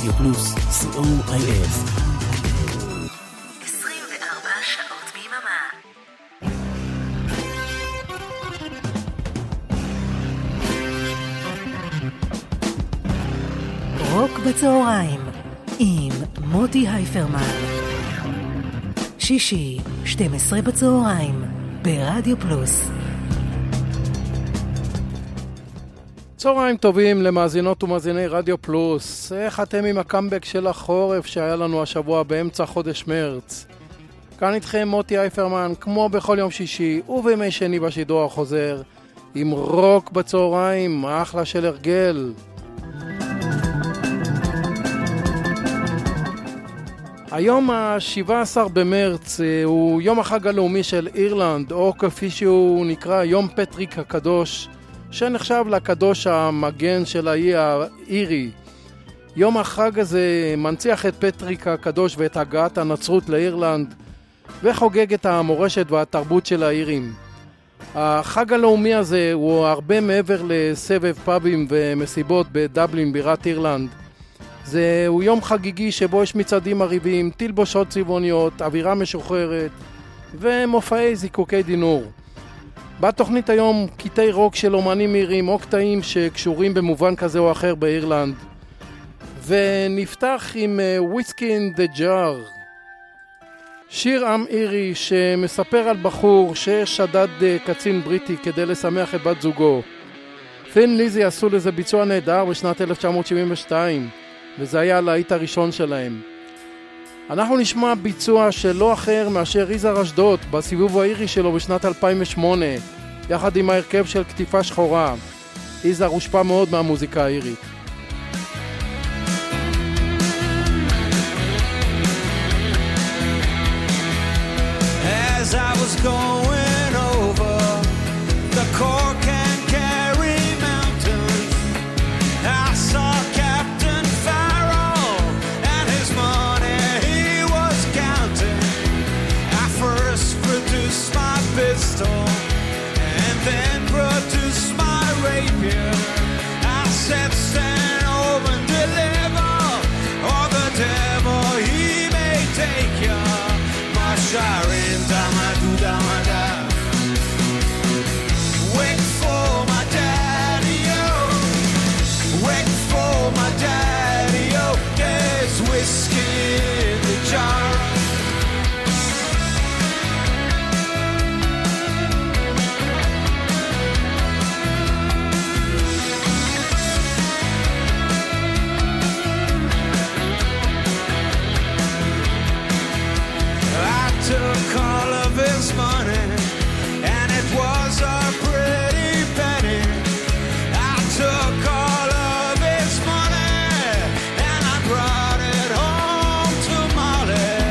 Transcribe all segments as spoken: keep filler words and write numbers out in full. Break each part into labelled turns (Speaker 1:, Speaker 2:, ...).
Speaker 1: רדיו פלוס, סי או איי אס.
Speaker 2: עשרים וארבע שעות ביממה. רוק בצהריים עם מוטי הייפרמן. שישי, שתים עשרה בצהריים, ברדיו פלוס.
Speaker 3: צהריים טובים למאזינות ומאזיני רדיו פלוס. איך אתם עם הקאמבק של החורף שהיה לנו השבוע באמצע חודש מרץ? כאן איתכם מוטי הייפרמן, כמו בכל יום שישי ובימי שני בשידור החוזר, עם רוק בצהריים, אחלה של הרגל. היום ה-שבעה עשר במרץ הוא יום החג הלאומי של אירלנד, או כפי שהוא נקרא יום פטריק הקדוש, שנחשב לקדוש המגן של האי האירי. יום החג הזה מנציח את פטריק הקדוש ואת הגעת הנצרות לאירלנד, וחוגג את המורשת והתרבות של האירים. החג הלאומי הזה הוא הרבה מעבר לסבב פאבים ומסיבות בדבלין בירת אירלנד. זהו יום חגיגי שבו יש מצעדים מרהיבים, תלבושות צבעוניות, אווירה משוחררת ומופעי זיקוקי דינור. בתוכנית היום קטעי רוק של אומנים מהירים או קטעים שקשורים במובן כזה או אחר באירלנד. ונפתח עם וויסקי אין דה ג'אר, שיר עם אירי שמספר על בחור ששדד קצין בריטי כדי לשמח את בת זוגו. ת'ין ליזי עשו לזה ביצוע נהדר בשנת אלף תשע מאות שבעים ושתיים, וזה היה הלהיט הראשון שלהם. אנחנו נשמע ביצוע שלא אחר מאשר יזהר אשדוד בסיבוב האירי שלו בשנת אלפיים ושמונה, יחד עם ההרכב של כתיפה שחורה. יזהר הושפע מאוד מהמוזיקה האירית.
Speaker 4: As I was going over the Cork and Kerry mountains, I saw Captain Farrell and his money he was counting. I first produced my pistol and then produced my rapier. I said stand over and deliver, or the devil he may take you. Sharin dama do dama da. Wait for my daddy-o, wait for my daddy-o. There's whiskey in the jar. Took all of his money, and it was a pretty penny. I took all of his money, and I brought it home to Molly.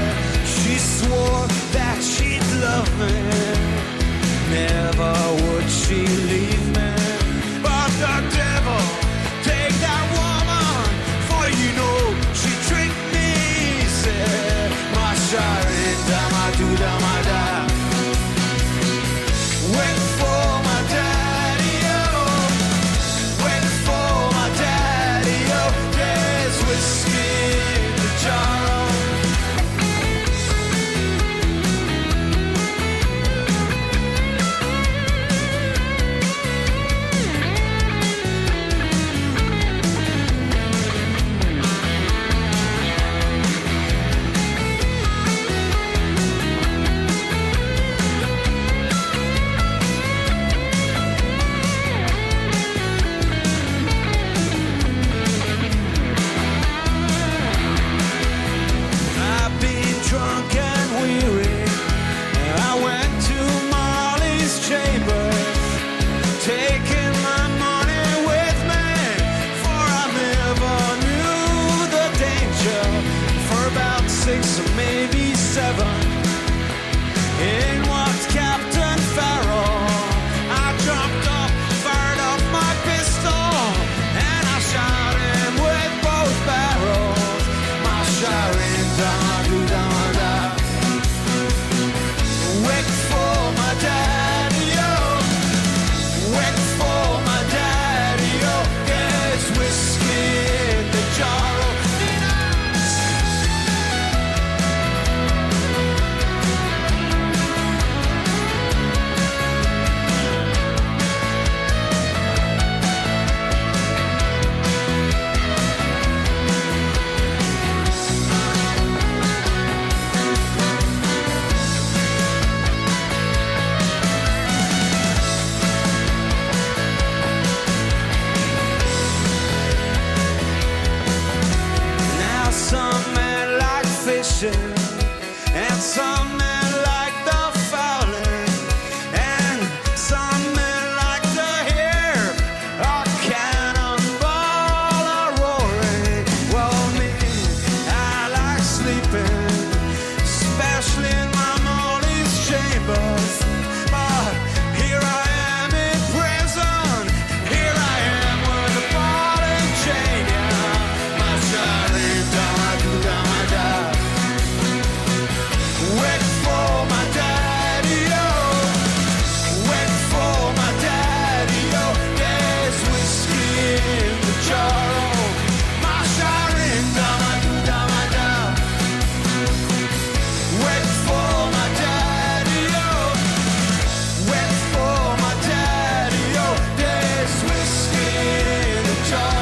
Speaker 4: raging, and some men like the fowling, and some men like to hear a cannonball a roaring. Well, me, I like sleeping, especially in my Molly's chambers. But here I am in prison, here I am with a ball and chain. Yeah, my Charlie, down I do, down I die. Wait for my daddy, oh. Wait for my daddy, oh. There's whiskey in the jar, oh. My Charlie, down I do, down I die. Wait for my daddy, oh. Wait for my daddy, oh. There's whiskey in the jar.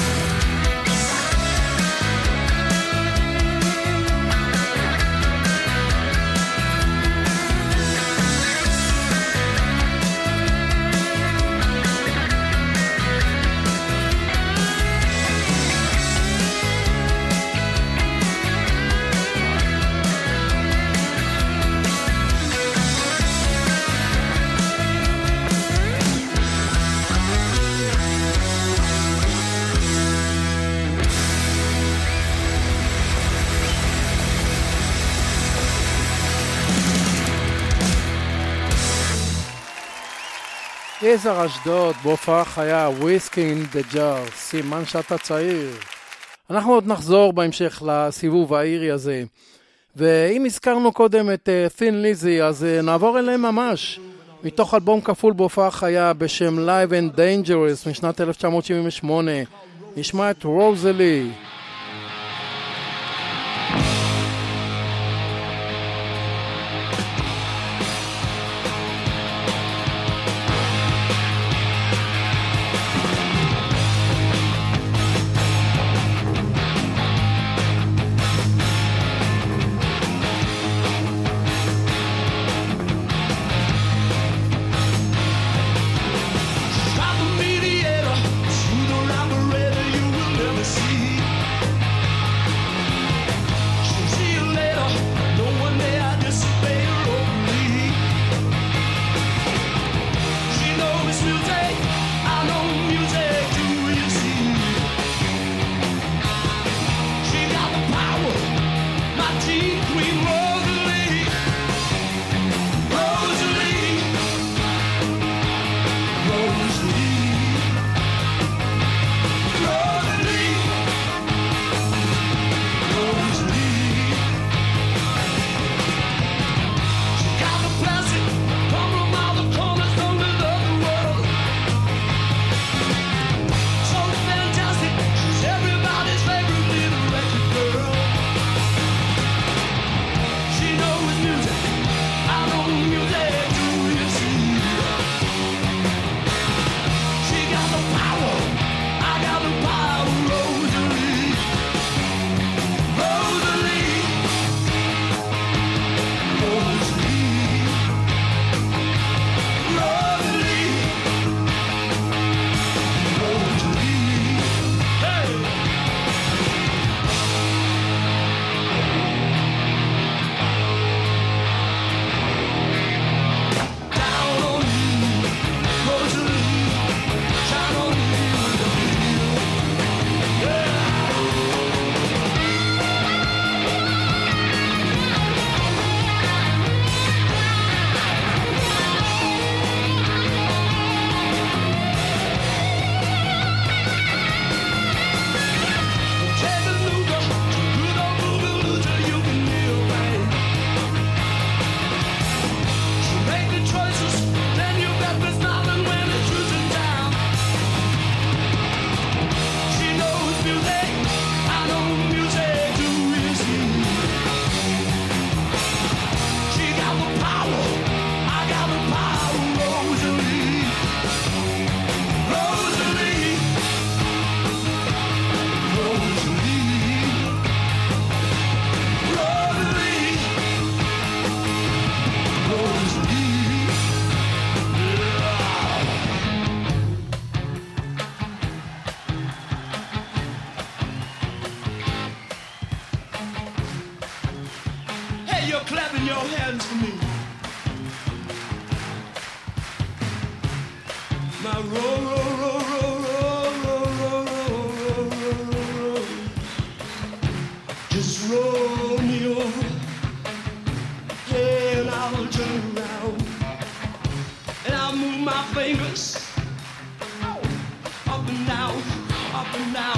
Speaker 3: יזהר אשדוד, בהופעה חיה, וויסקי אין דה ג'אר, סימן שאתה צעיר. אנחנו עוד נחזור בהמשך לסיבוב האירי הזה. ואם הזכרנו קודם את תין ליזי, אז נעבור אליהם ממש. מתוך אלבום כפול בהופעה חיה בשם Live and Dangerous משנת אלף תשע מאות שבעים ושמונה. נשמע את רוזלי.
Speaker 5: Mediator, through the operator, you will never see.
Speaker 4: your hands for me. Now roll, roll, roll, roll, roll, roll, roll, roll, roll, roll. Just roll me over, and I'll turn around, and I'll move my fingers up and down, up and down.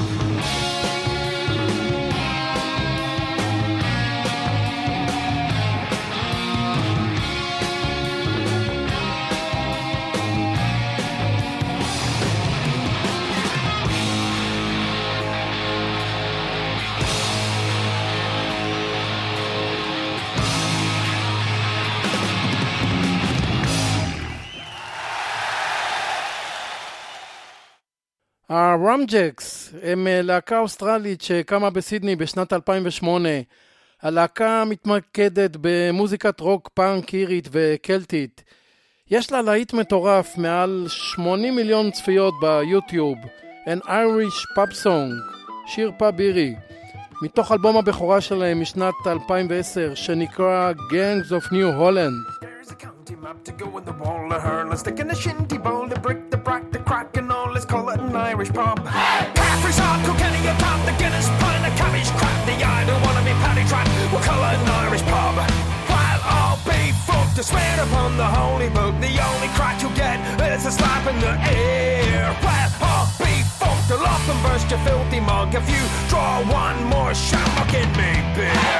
Speaker 3: הראמג'קס הם להקה אוסטרלית שקמה בסידני בשנת אלפיים ושמונה. הלהקה מתמקדת במוזיקת רוק פאנק אירית וקלטית. יש לה להיט מטורף, מעל שמונים מיליון צפיות ביוטיוב. An Irish Pub Song, שיר פאב אירי, מתוך אלבום הבכורה שלהם משנת אלפיים ועשר שנקרא Gangs of New Holland.
Speaker 5: Map to go in the wall of her. Let's stick in the shinty bowl, the brick, the brack, the crack and all. Let's call it an Irish pub. Caffrey's hard, Kilkenny, a top, the Guinness, put in the cabbage crap. The I don't wanna be paddy trap. We'll call it an Irish pub. While all be fucked to swear upon the holy book, the only crack you get is a slap in the air. While all be fucked, I'll up and burst your filthy mug if you draw one more shamrock in me beer.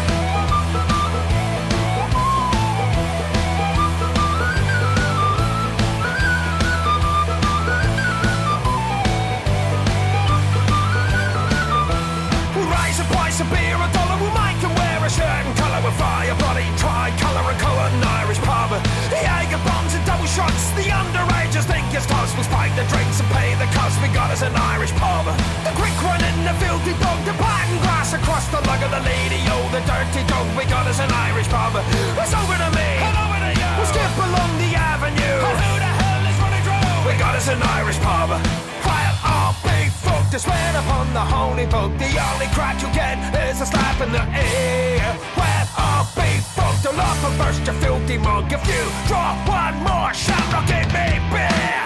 Speaker 5: A beer, a dollar, we might can wear a shirt and colour with fire, bloody tri-colour and colour, an Irish pub. The Jager bombs and double shots, the underagers think it's toss. We spike the drinks and pay the cost, we got us an Irish pub. The quick one in the filthy dog, the pattern grass across the lug of the lady, oh, the dirty dog, we got us an Irish pub. It's over to me, and over to you. We'll skip along the avenue, and who the hell is running through? We got us an Irish pub. While all big folk to swear upon the holy book, the only crack you get is a slap in the air. Well, all big folk to laugh and burst your filthy mug if you draw one more shamrock in me beer.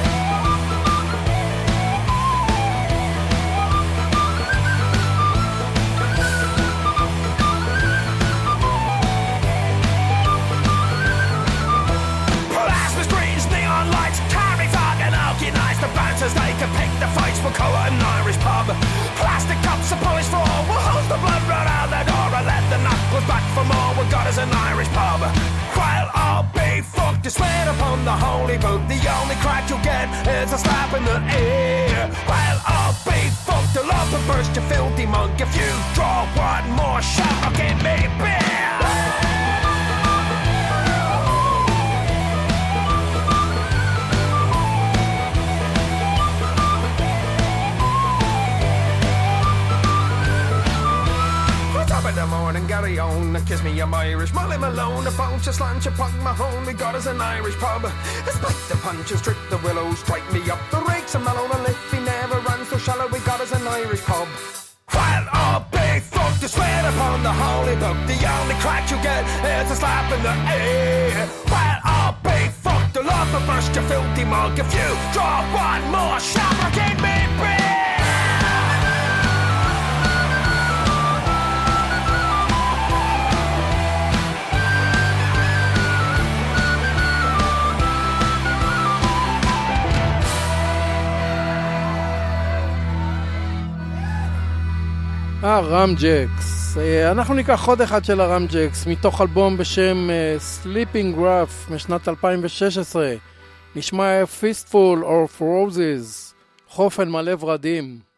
Speaker 5: Plasma screens, neon lights, carry fog and alky nights. The bouncers, they can pick the fights, we'll call it an Irish pub. Plastic cups are polished for all, we'll hose the blood right out the door and let the knuckles back for more. We got us an Irish pub. While all be fucked to swear upon the holy book, the only crack you'll get is a slap in the air. While all be fucked to love and burst your filthy mug if you draw one more shamrock in me beer. In the morning, Gary on, kiss me, I'm Irish. Molly Malone, a bunch of slant, you punk my home. We got us an Irish pub. Spike the punches, strip the willows, strike me up the rakes. And Malone, and if he never runs so shallow, we got us an Irish pub. While all big folk to swear upon the holy book, the only crack you get is a slap in the air. While all big folk to love and burst your filthy mug if you draw one more shamrock in me beer.
Speaker 3: הראמג'קס, אנחנו ניקח עוד אחד של הראמג'קס מתוך אלבום בשם Sleeping Rough משנת אלפיים ושש עשרה. נשמע Fistful of Roses, חופן מלא ורדים.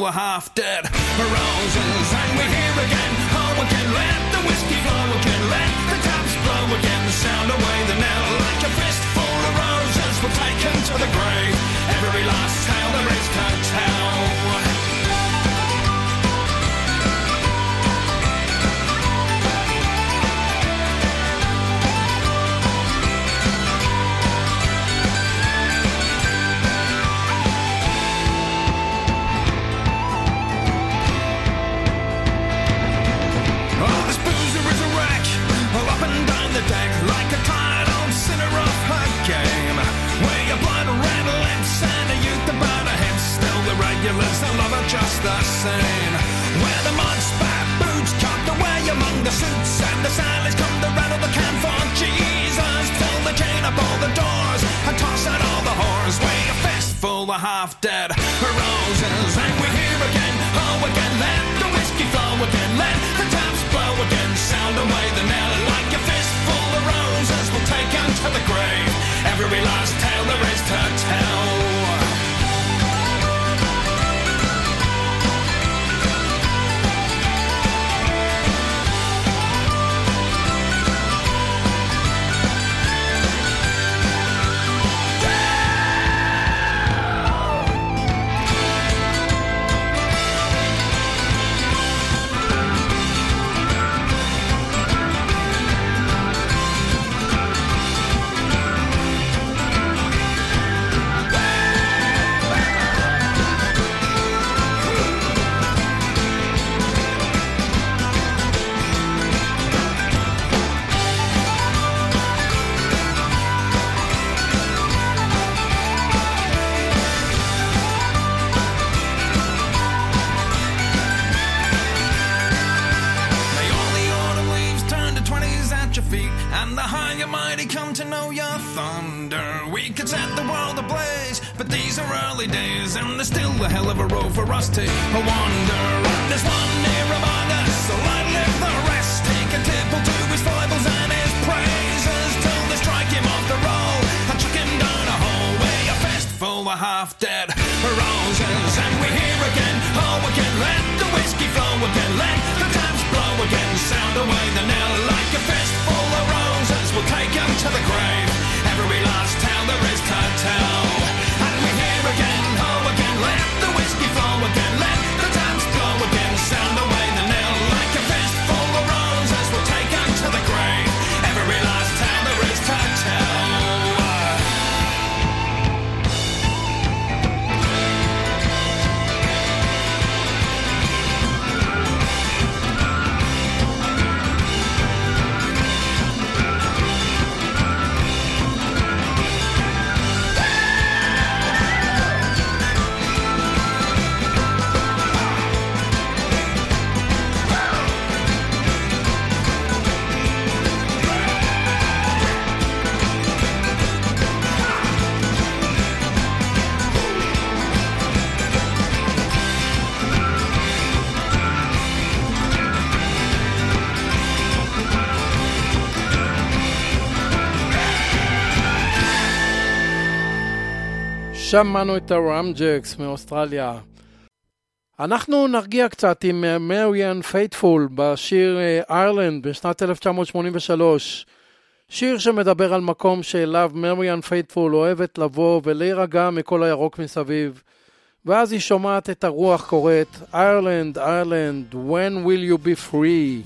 Speaker 5: full of half-dead roses. And we're here again, oh again, let the whiskey flow again, let the taps blow again, sound away the knell like a fistful of roses were taken to the grave. Every last tale there is to tell. Like a tired old sinner off her game, where your blood red lips and a youth about her hips. Still the regulars, I love her just the same. Where the mud spat boots cut the way among the suits, and the sailors come to rattle the can for Jesus. Pull the chain up all the doors and toss out all the whores. We're a fistful of half-dead roses. And we're here again, oh again, let the whiskey flow again, let the taps blow again, sound away the knell like a fistful of roses will take him to the grave. Every last tale there is to tell.
Speaker 3: שמענו את הראמג'קס מאוסטרליה. אנחנו נרגיע קצת עם מריאן פייטפול בשיר אירלנד בשנת אלף תשע מאות שמונים ושלוש. שיר שמדבר על מקום שאליו מריאן פייטפול אוהבת לבוא ולהירגע מכל הירוק מסביב. ואז היא שומעת את הרוח קוראת, אירלנד, אירלנד, when will you be free?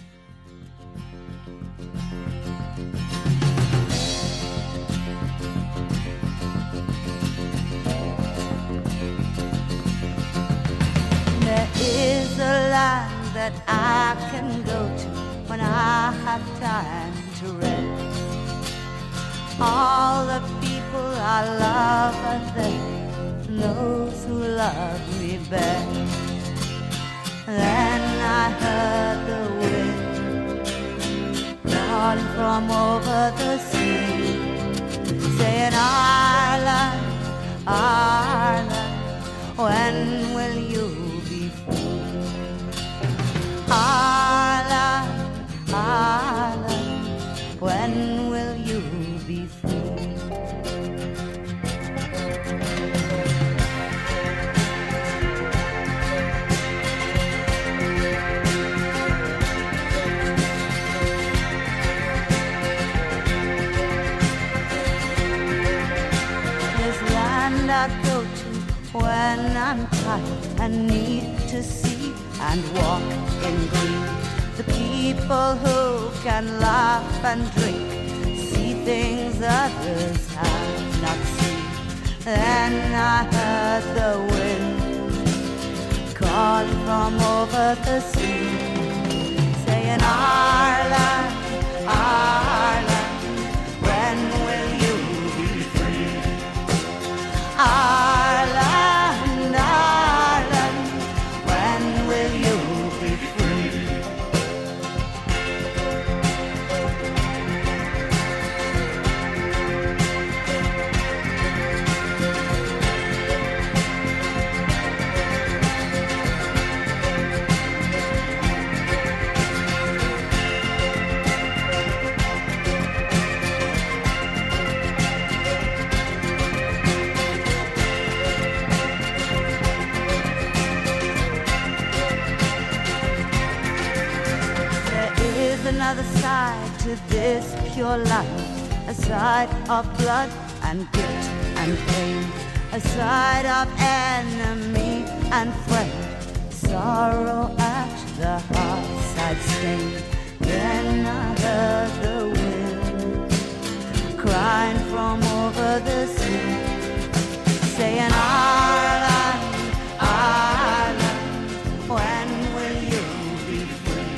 Speaker 6: There is a land that I can go to when I have time to rest. All the people I love are there, those who love me best. Then I heard the wind blowing from over the sea, saying, Ireland, Ireland, when will you be free? Ireland, Ireland, when will you be free? I go to when I'm tired and need to see and walk in green. The people who can laugh and drink, see things others have not seen. Then I heard the wind calling from over the sea, saying, Ireland, Ireland, when will you be free? Ireland, Ireland, when will you be free? Another side to this pure life, a side of blood and guilt and pain, a side of enemy and friend, sorrow at the heartside stain. Then I heard the wind crying from over the sea, saying, Ireland, Ireland, when will you be free?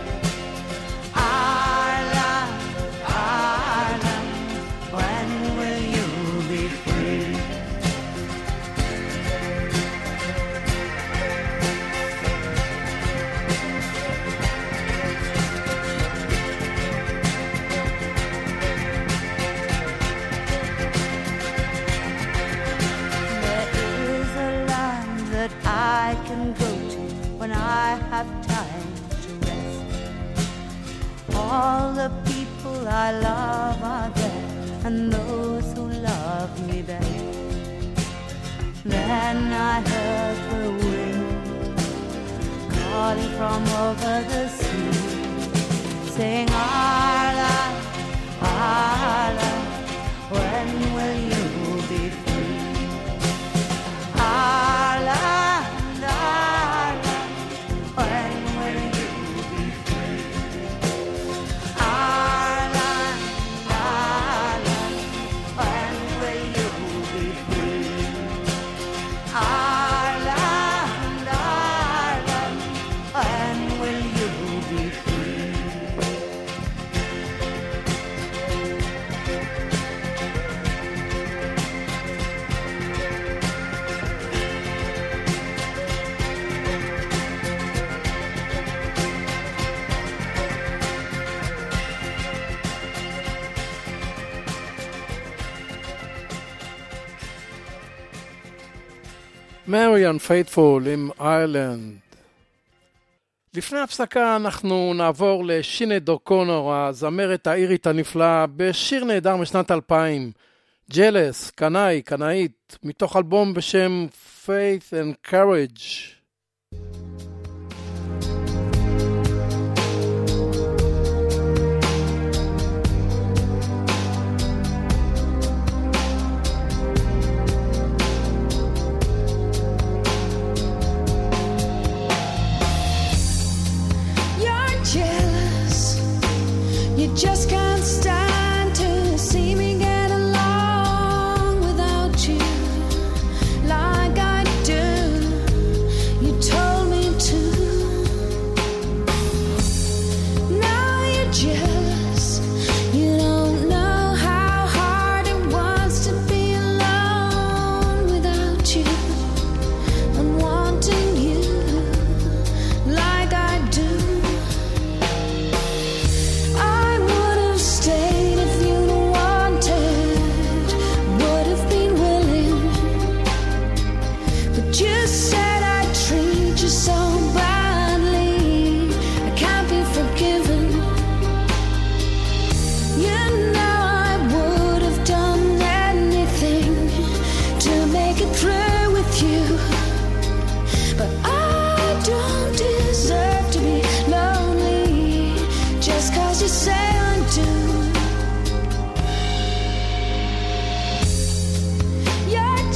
Speaker 6: Ireland, Ireland, when will you be free? There is a land that I can go to when I have time to rest. All the people I love are there, and those who love me best. Then I heard the wind calling from over the sea, saying, Ireland, Ireland, when will you be free? Ireland, Ireland, when will you be free? Ireland, Ireland, when will you be free? Ireland, Ireland, when will you be free?
Speaker 3: מריאן פייטפול עם איילנד. לפני הפסקה אנחנו נעבור לשינד אוקונור, הזמרת האירית הנפלאה, בשיר נהדר משנת אלפיים, ג'לס, קנאי, קנאית, מתוך אלבום בשם Faith and Courage.
Speaker 7: Just can't stand to see me get along without you like I do.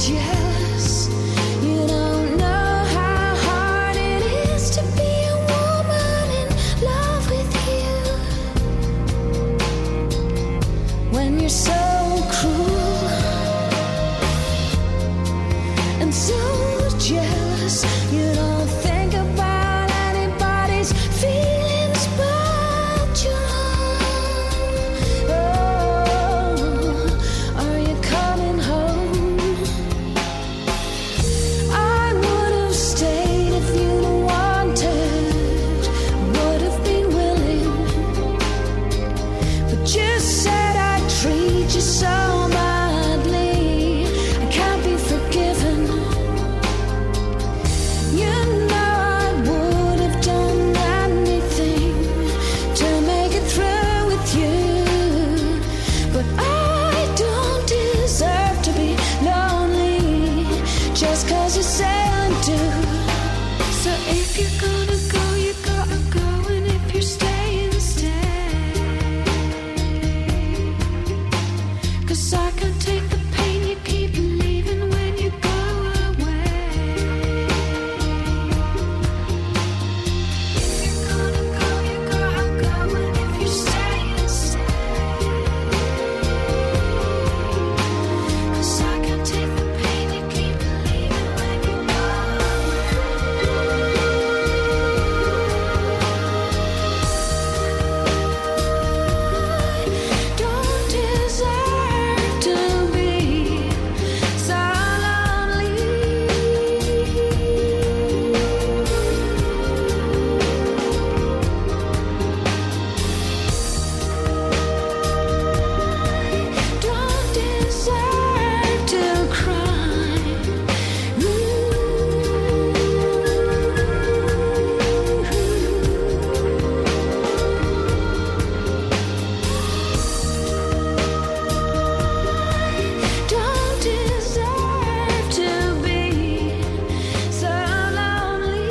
Speaker 7: jealous. You don't know how hard it is to be a woman in love with you. When you're so cruel and so jealous, you don't think about anybody's feelings but your own. Oh, are you coming home? I would have stayed if you'd wanted, would have been willing, but you said I'd treat you so badly, I can't be forgiven. You know I would have done anything to make it through with you, but I don't deserve to be lonely just 'cause you say I do. So if you're gonna go, you gotta go, and if you're staying, stay. 'Cause I can't take the pain you keep leaving when you go away. If you're gonna go, you gotta go, and if you're staying, stay. 'Cause I can't take the pain you keep leaving when you go away. Don't deserve to be so lonely. Don't deserve to cry. Don't deserve to be so lonely.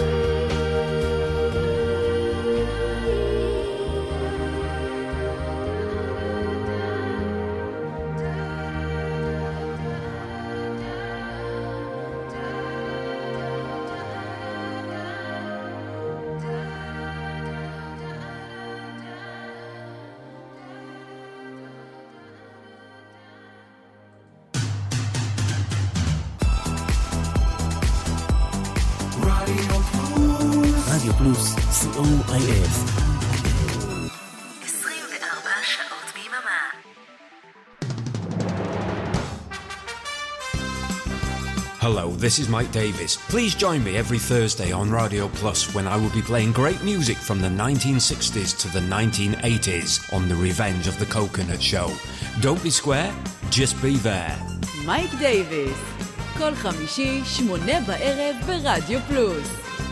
Speaker 1: רדיו פלוס, סי או איי אס.
Speaker 2: עשרים וארבע שעות ביממה.
Speaker 8: Hello, this is Mike Davis. Please join me every Thursday on Radio Plus when I will be playing great music from the nineteen sixties to the nineteen eighties on the Revenge of the Coconut Show. Don't be square, just be there.
Speaker 9: מייק דייביס, כל חמישי, שמונה בערב ברדיו פלוס.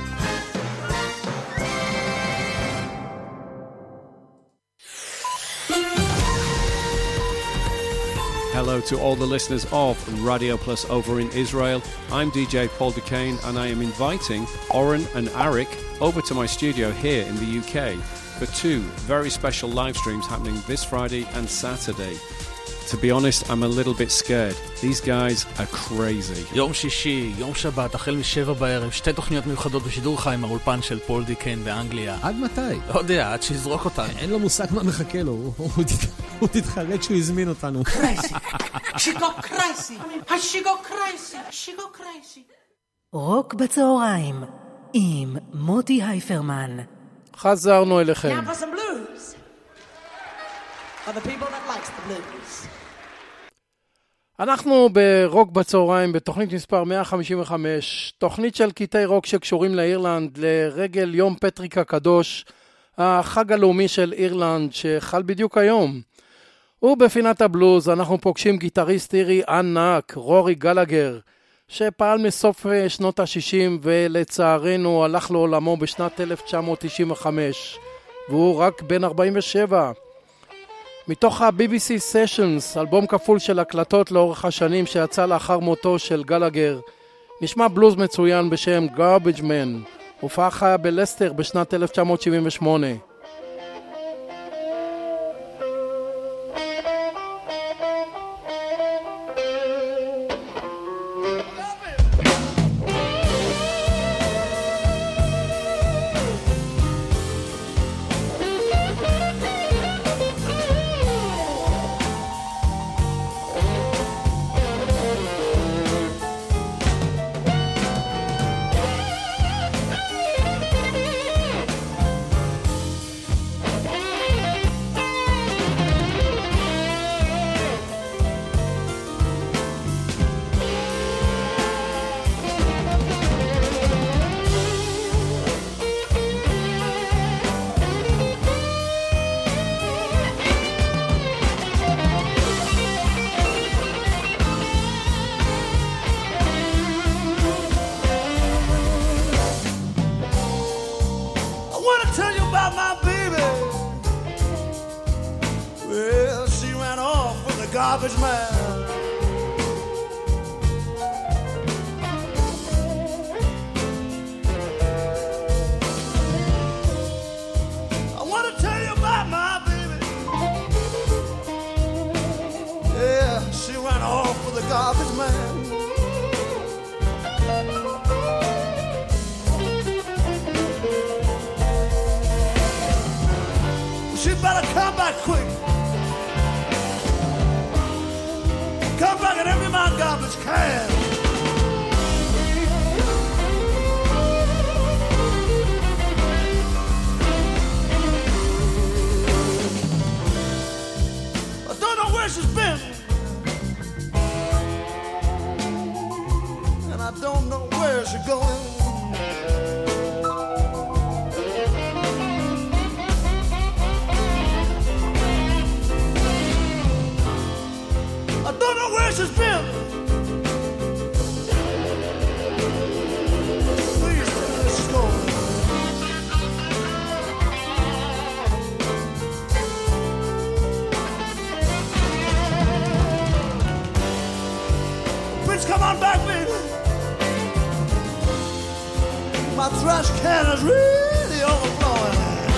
Speaker 10: Hello to all the listeners of Radio Plus over in Israel. I'm D J Paul Duquesne and I am inviting Oren and Arik over to my studio here in the U K for two very special live streams happening this Friday and Saturday. To be honest, I'm a little bit scared. These guys are crazy.
Speaker 11: יום שישי, יום שבת, החל משבע בערב, שתי תוכניות מיוחדות בשידור חי עם האולפן של פול דיקן באנגליה.
Speaker 12: עד מתי?
Speaker 11: לא יודע, עד שיזרוק אותנו.
Speaker 12: אין לו מושג מה מחכה לו, הוא תתחרט שהוא הזמין אותנו.
Speaker 13: קרייסי, שיגו קרייסי, השיגו קרייסי, השיגו קרייסי.
Speaker 2: רוק בצהריים עם מוטי הייפרמן.
Speaker 3: חזרנו אליכם.
Speaker 13: Now for some blues. For the people that likes the blues.
Speaker 3: אנחנו ברוק בצהריים בתוכנית מספר מאה חמישים וחמש, תוכנית של קטעי רוק שקשורים לאירלנד לרגל יום פטריק הקדוש, החג הלאומי של אירלנד שחל בדיוק היום. ובפינת הבלוז אנחנו פוגשים גיטריסט אירי ענק, רורי גלגר, שפעל מסוף שנות ה-שישים ולצערנו הלך לעולמו בשנת אלף תשע מאות תשעים וחמש, והוא רק בן ארבעים ושבע. מתוך ה-בי בי סי Sessions, אלבום כפול של הקלטות לאורך השנים שיצא לאחר מותו של גלגר, נשמע בלוז מצוין בשם Garbage Man, הופעה חיה בלסטר בשנת אלף תשע מאות שבעים ושמונה.
Speaker 14: garbage man. I want to tell you about my baby. Yeah, she ran off with the garbage man. She better come back quick. Come back and empty my garbage can. I don't know where she's been, and I don't know where she's going. I don't know where she's been. Please, let's go. Prince, come on back, baby. My trash can is really overflowing.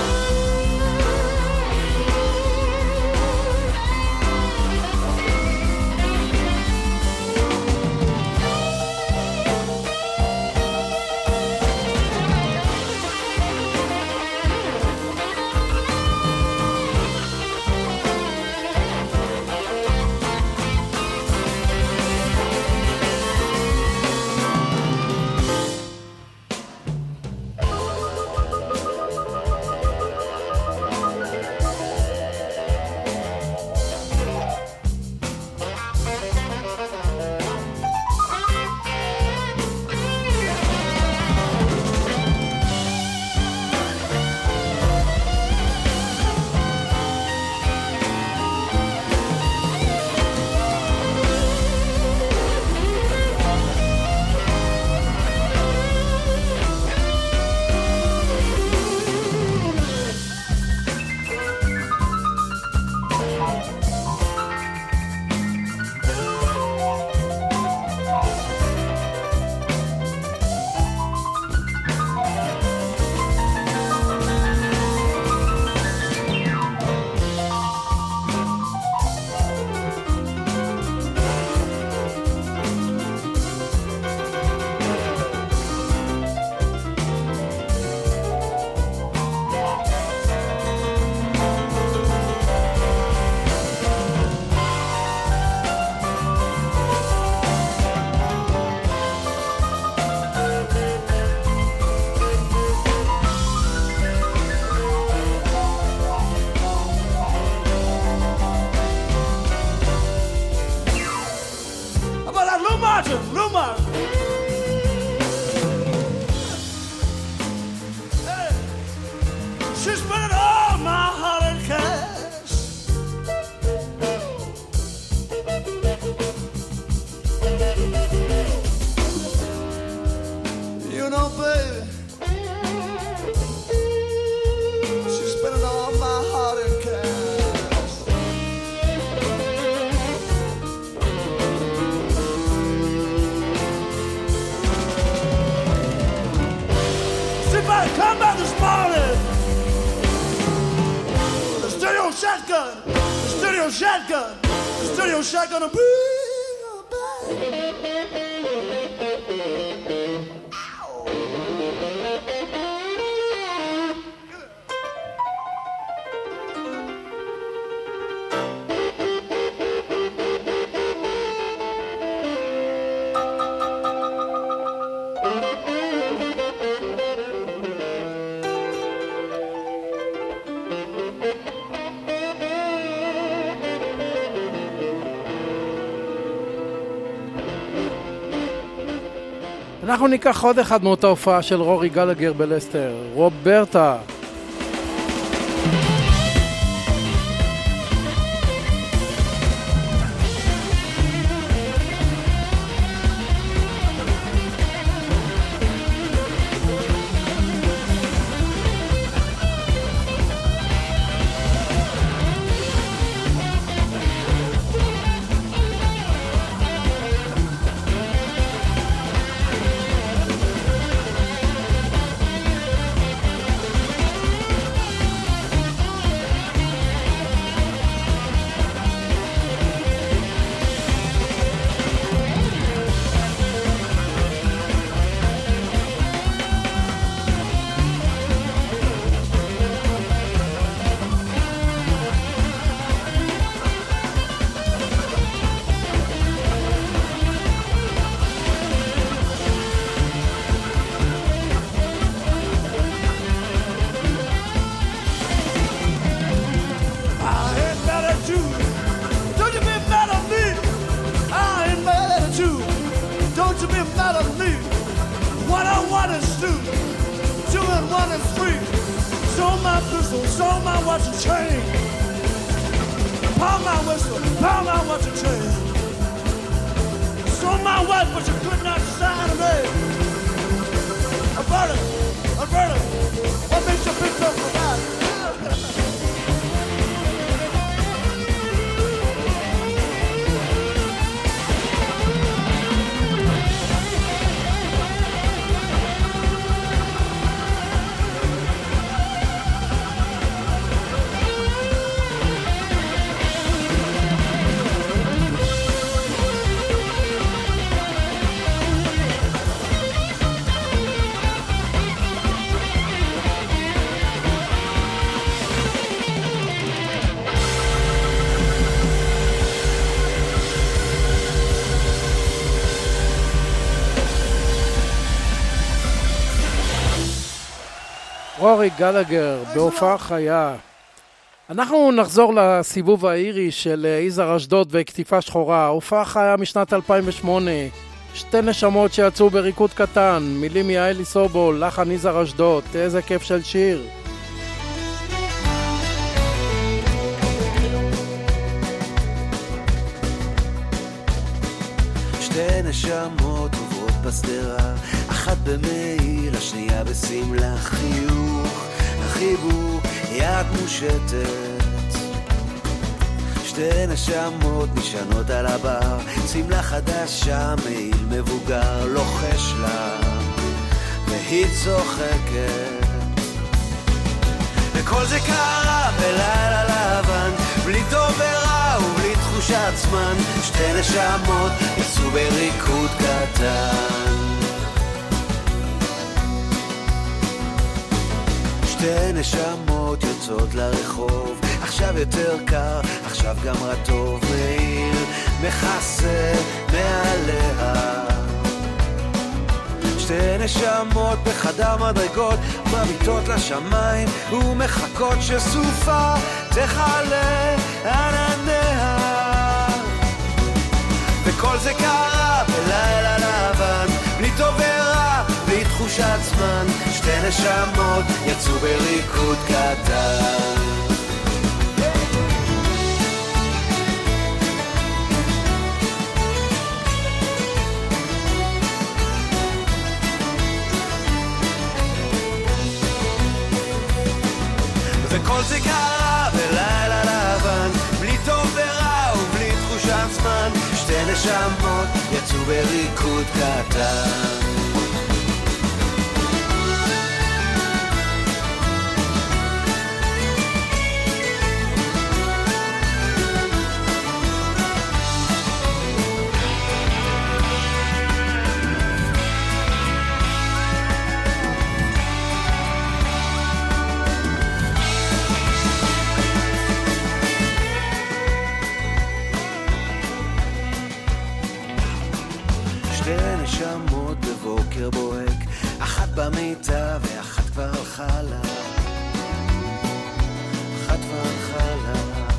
Speaker 14: Shotgun, the studio shotgun, the studio shotgun, a bring her back.
Speaker 3: אנחנו ניקח עוד אחד מאותה הופעה של רורי גלגר בלסטר, רוברטה.
Speaker 14: One is two, two and one is three. Show my pistol, show my watch and chain. Pound my whistle, pound my watch and chain. Show my wife, but you could not sign a name. Alberta, Alberta, what makes you pick up for that?
Speaker 3: רורי גלגר בהופעה חיה. אנחנו נחזור לסיבוב האירי של יזהר אשדוד וכתיפה שחורה. הופעה חיה משנת אלפיים ושמונה. שתי נשמות שיצאו בריקוד קטן. מילים יעלי סובול, לחן יזהר אשדוד. איזה כיף של שיר.
Speaker 15: שתי נשמות עוברות בסדרה, אחת במעיל, השנייה בסמלה, חיוך, החיבוק, יד מושטת. שתי נשמות נשענות על הבר, סמלה חדשה, מעיל מבוגר, לוחש לה, והיא צוחקת. וכל זה קרה בלילה לבן, בלי טוב ורע ובלי תחושת זמן. שתי נשמות יצאו בריקוד קטן. שתי נשמות יוצאות לרחוב, עכשיו יותר קר, עכשיו גם רטוב, מעיל מכסה מעליה. שתי נשמות בחדר מדרגות, מביטות לשמיים ומחכות שסופה תחלה ענניה. וכל זה קרה בלילה לבן, בלי טוב ורע, בלי תחושת זמן. שתי נשמות יצאו בריקוד קטן. וכל זה קרה בלילה לבן, בלי טוב ורע ובלי תחושת זמן. שתי נשמות יצאו בריקוד קטן. נשמות בבוקר בוהק, אחת במיטה ואחת כבר הלכה לה, אחת כבר הלכה לה.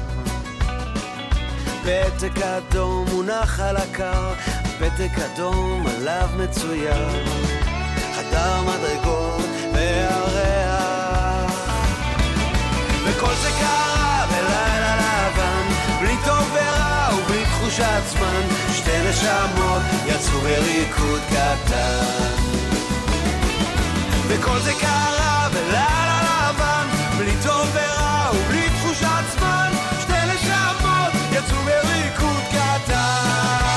Speaker 15: פתק אדום מונח על הקר, פתק אדום עליו מצויר, חדר מדרגות והריח. וכל זה קרה בלילה לבן, בלי טוב ורע ובלי תחושת זמן. שתי נשמות יצאו בריקוד קטן. וכל זה קרה בלילה לבן, בלי טוב ורע ובלי תחושת זמן. שתי נשמות יצאו בריקוד קטן.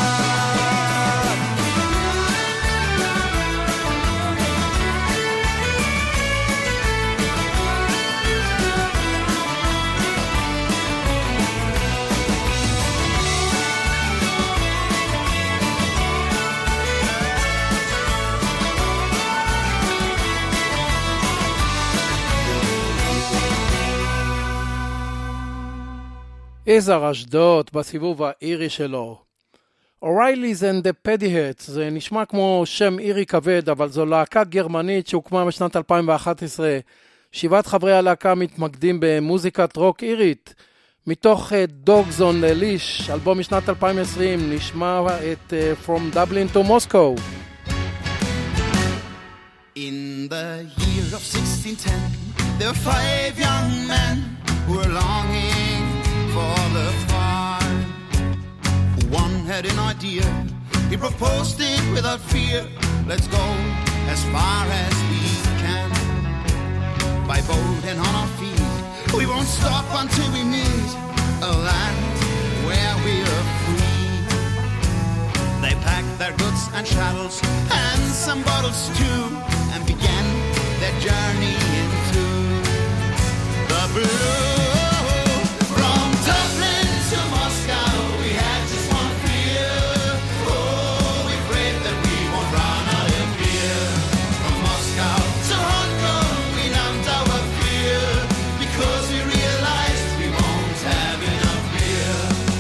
Speaker 3: יזהר אשדוד בסיבוב האירי שלו. O'Reilly's and the Paddyheads, זה נשמע כמו שם אירי כבד, אבל זו להקה גרמנית שהוקמה בשנת אלפיים ואחת עשרה. שבעת חברי הלהקה מתמקדים במוזיקת רוק אירית. מתוך Dogs on the Leash, אלבום משנת אלפיים ועשרים, נשמע את uh, From Dublin to Moscow.
Speaker 15: In
Speaker 16: the year of sixteen ten, there were five young men who were longing for the farm. One had an idea, he proposed it without fear. Let's go as far as we can, by boat and on our feet. We won't stop until we meet a land where we are free. They packed their goods and chattels and some bottles too, and began their journey into the blue. From Dublin to Moscow, we had just one fear. Oh, we prayed that we won't run out of beer. From Moscow to Hong Kong, we numbed our fear, because we realized we won't have enough beer.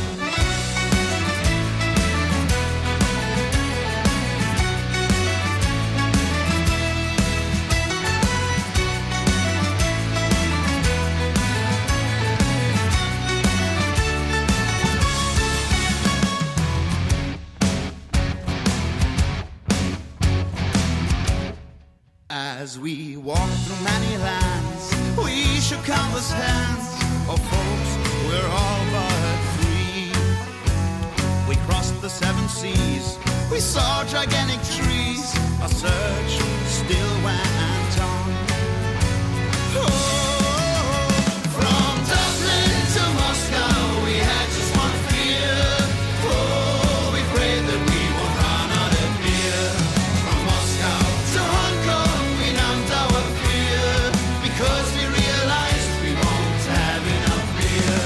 Speaker 16: As we walked through many lands, we shook countless hands of folks we're all but free. We crossed the seven seas, we saw gigantic trees. Our search still went on. Oh, from Dublin to Moscow, we had just one fear. Oh, we prayed that we won't run out of beer. From Moscow to Hong Kong, our fear, because we realized we won't have enough beer.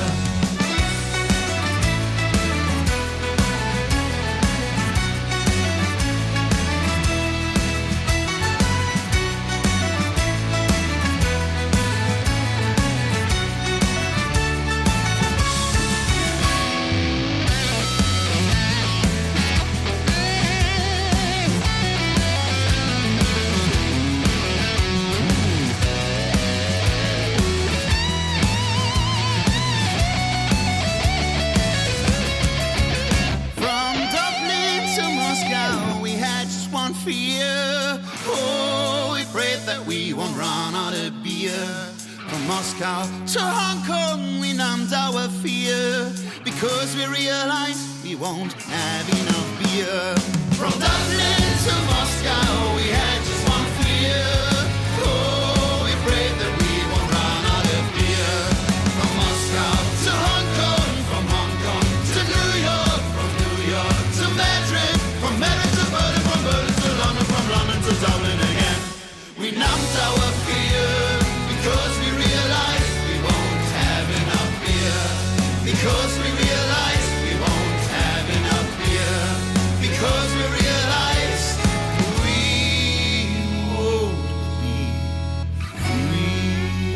Speaker 16: Fear. Oh, we prayed that we won't run out of beer. From Moscow to Hong Kong, we numbed our fear, because we realized we won't have enough beer. From Dublin to Moscow, we had just one fear. Oh, we prayed that we won't run out of beer. From Moscow to Hong Kong, from Hong Kong to New York, from New York to Madrid, from Madrid to Berlin, from Berlin to London, from London to Dublin again. We numbed our fear, because we realized we won't have enough beer. Because we realized we won't have enough beer. Because we realized we won't be free.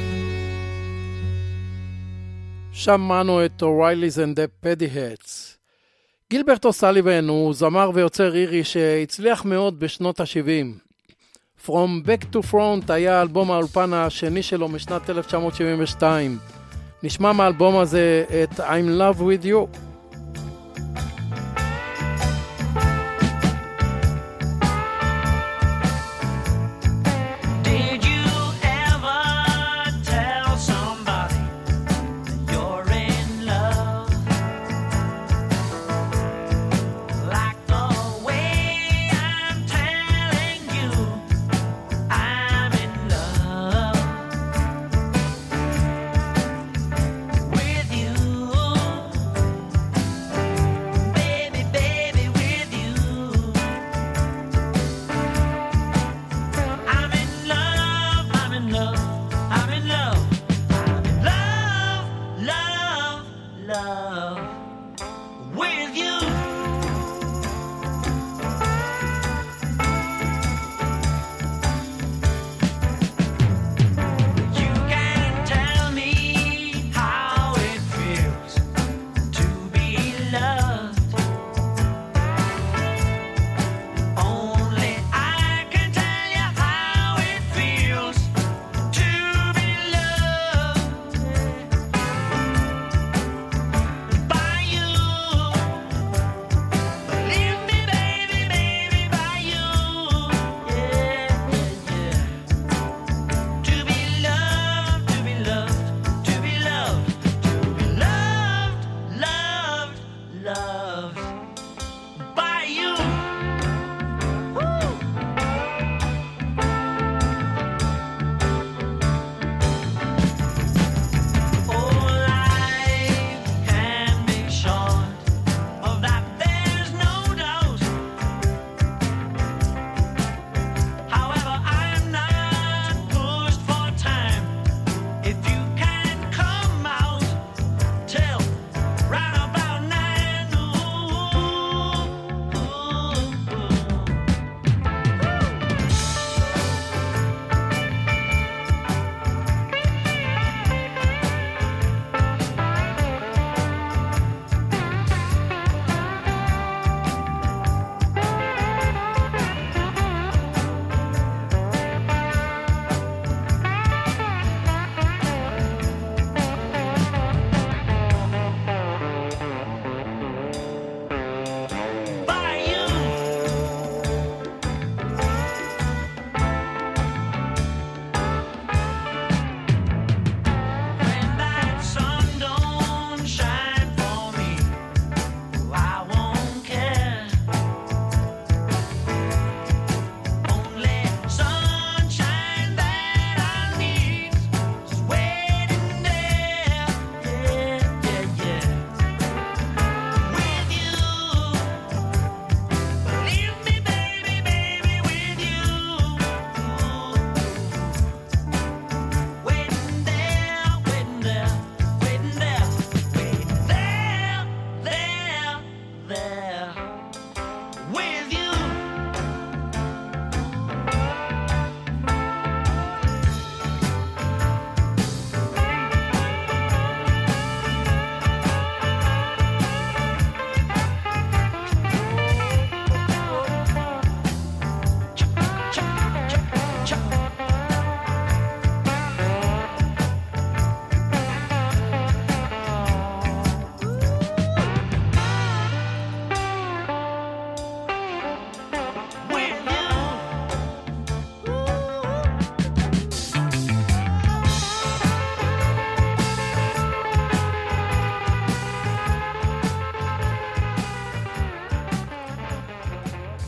Speaker 3: שמענו את O'Reilly's and the Paddyheads. גילברט אוסליבן הוא זמר ויוצר אירי שהצליח מאוד בשנות ה-שבעים. From Back to Front היה אלבום האולפן השני שלו משנת אלף תשע מאות שבעים ושתיים. נשמע מהאלבום הזה את I'm in Love with You.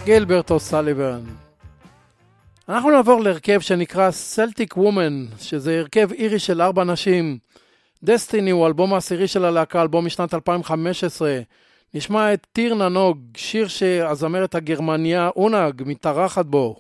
Speaker 3: גילברט אוסליבן. אנחנו נעבור להרכב שנקרא Celtic Woman, שזה הרכב אירי של ארבע נשים. דסטיני הוא אלבום העשירי של הלהקה, אלבום משנת אלפיים וחמש עשרה. נשמע את טיר ננוג, שיר שהזמרת הגרמניה אונג מתארחת בו.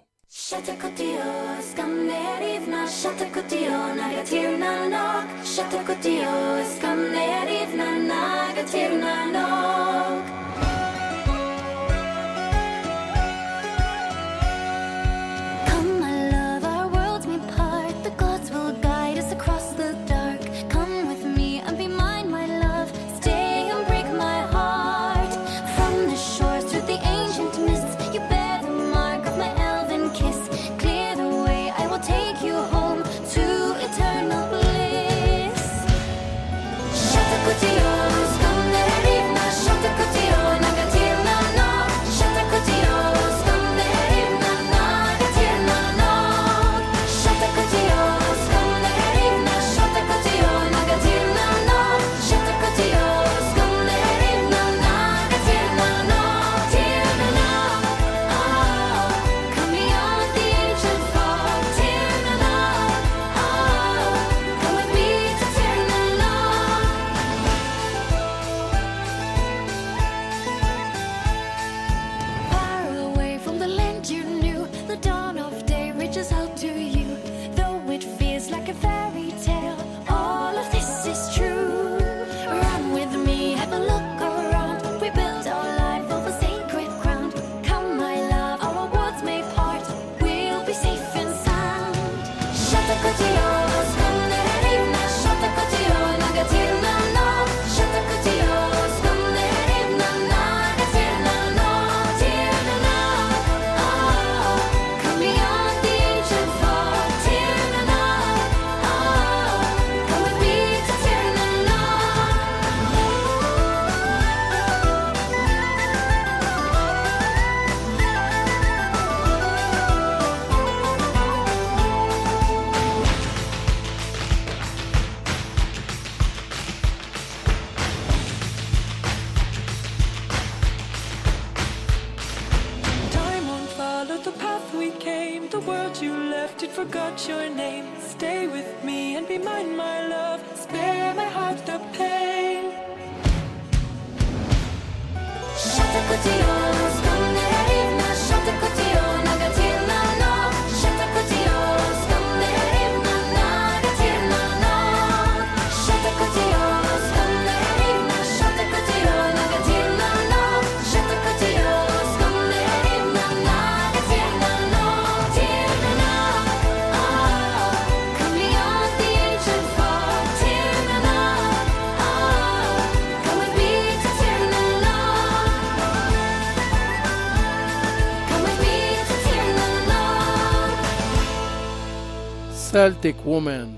Speaker 3: Celtic Woman.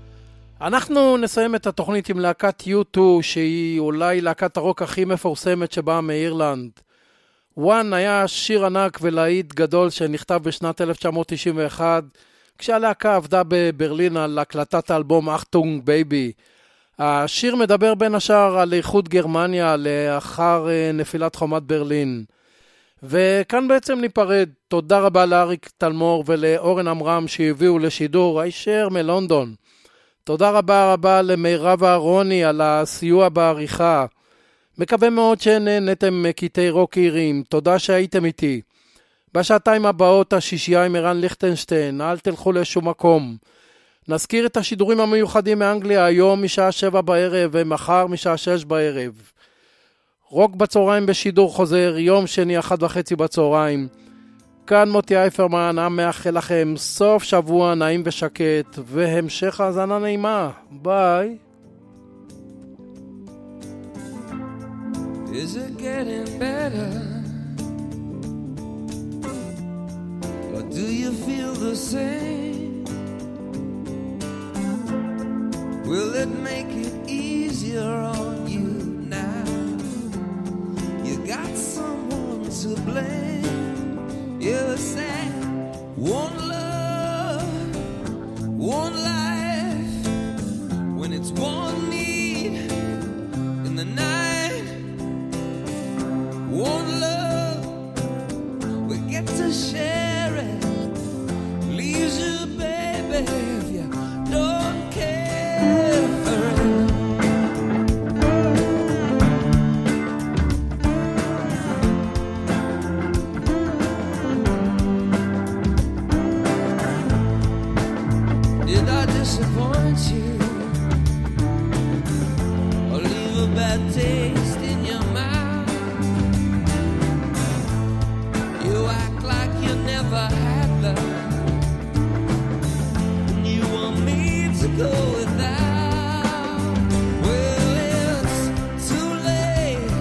Speaker 3: אנחנו נסיים את התוכנית עם להקת יו טו, שהיא אולי להקת הרוק הכי מפורסמת שבאה מאירלנד. וואן היה שיר ענק ולהיט גדול שנכתב בשנת אלף תשע מאות תשעים ואחת, כשהלהקה עבדה בברלין על הקלטת האלבום אכטונג בייבי. השיר מדבר בין השאר על איחוד גרמניה לאחר נפילת חומת ברלין. וכאן בעצם ניפרד. תודה רבה לאריק תלמור ולאורן אמרם שהביאו לשידור הישר מלונדון. תודה רבה רבה למירב אהרוני על הסיוע בעריכה. מקווה מאוד שנהנתם מקטעי רוק איריים. תודה שהייתם איתי. בשעתיים הבאות השישייה עם ערן ליכטנשטיין. אל תלכו לשום מקום. נזכיר את השידורים המיוחדים מאנגליה היום משעה שבע בערב ומחר משעה שש בערב. רוק בצהריים בשידור חוזר, יום שני אחת וחצי בצהריים. כאן מוטי אייפרמן, מאחל לכם סוף שבוע נעים ושקט, והמשך האזנה נעימה. ביי.
Speaker 4: Is it getting better? Or do you feel the same? Will it make it easier on you now? You got someone to blame. You said one love, one life. When it's one need in the night, one love. We to share it. Leaves you, baby, if you don't care for it. Did I disappoint you or leave a bad taste in your mouth? You act like you never had love, and you want me to go without. Well, it's too late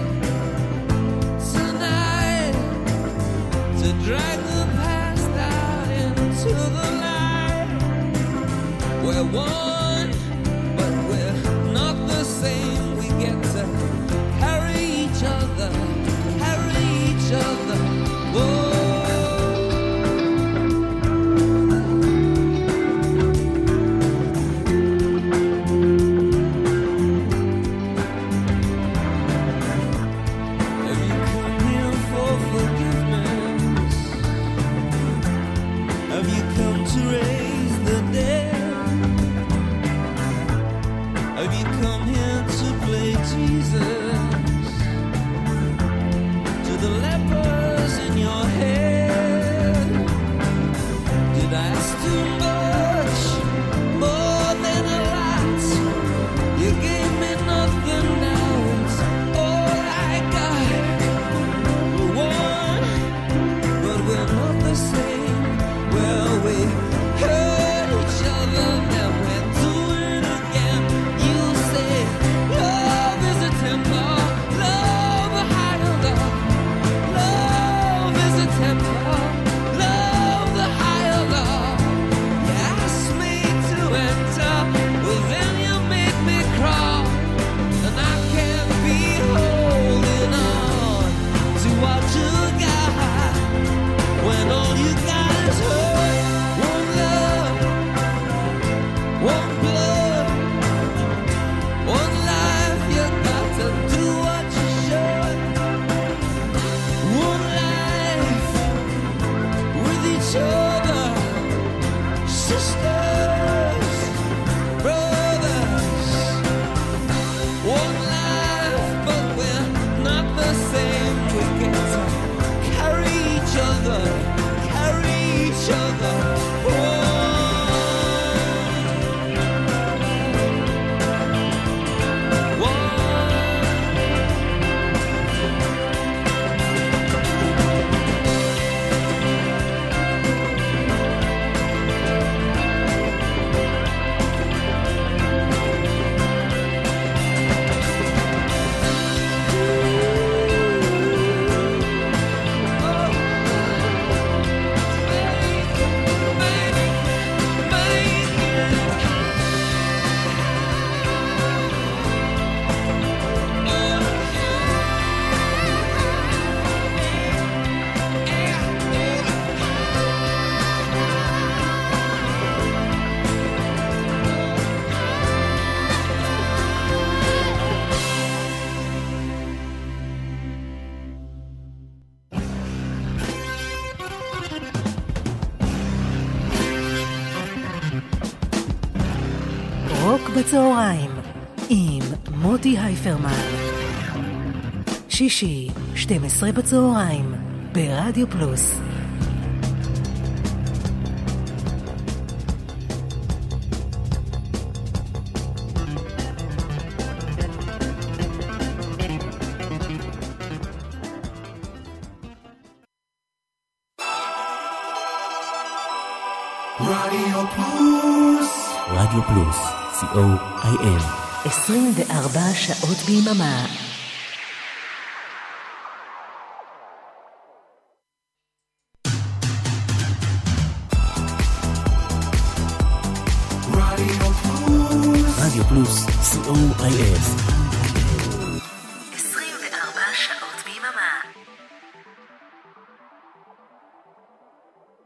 Speaker 4: tonight to drag the past out into the light. We're one, but we're not the same. We get to carry each other, carry each other. Whoa. Have you come here for forgiveness? Have you come to raise the dead? Have you come here to play Jesus to the lepers in your head? Did I ask too much, more than a lot? You gave me nothing, now it's all I got. We're one, but we're not the same. Well, we hurt each other, now we're doing it again. You say love is a temper, love a higher love. Love is a temper, love the higher love. You asked me to enter, well then you made me crawl, and I can't be holding on to what you got when all you got is hurt. One love, one blood, one life. You got to do what you should. One life with each other, sisters, brothers. One life, but we're not the same. We get to carry each other, carry each other.
Speaker 2: רוק בצהריים עם מוטי הייפרמן. שישי, שתים עשרה בצהריים, ברדיו פלוס.
Speaker 4: רדיו פלוס,
Speaker 1: רדיו פלוס, סי או איי אם.
Speaker 2: עשרים וארבע שעות ביממה.
Speaker 1: רדיו פלוס, סי או איי אס.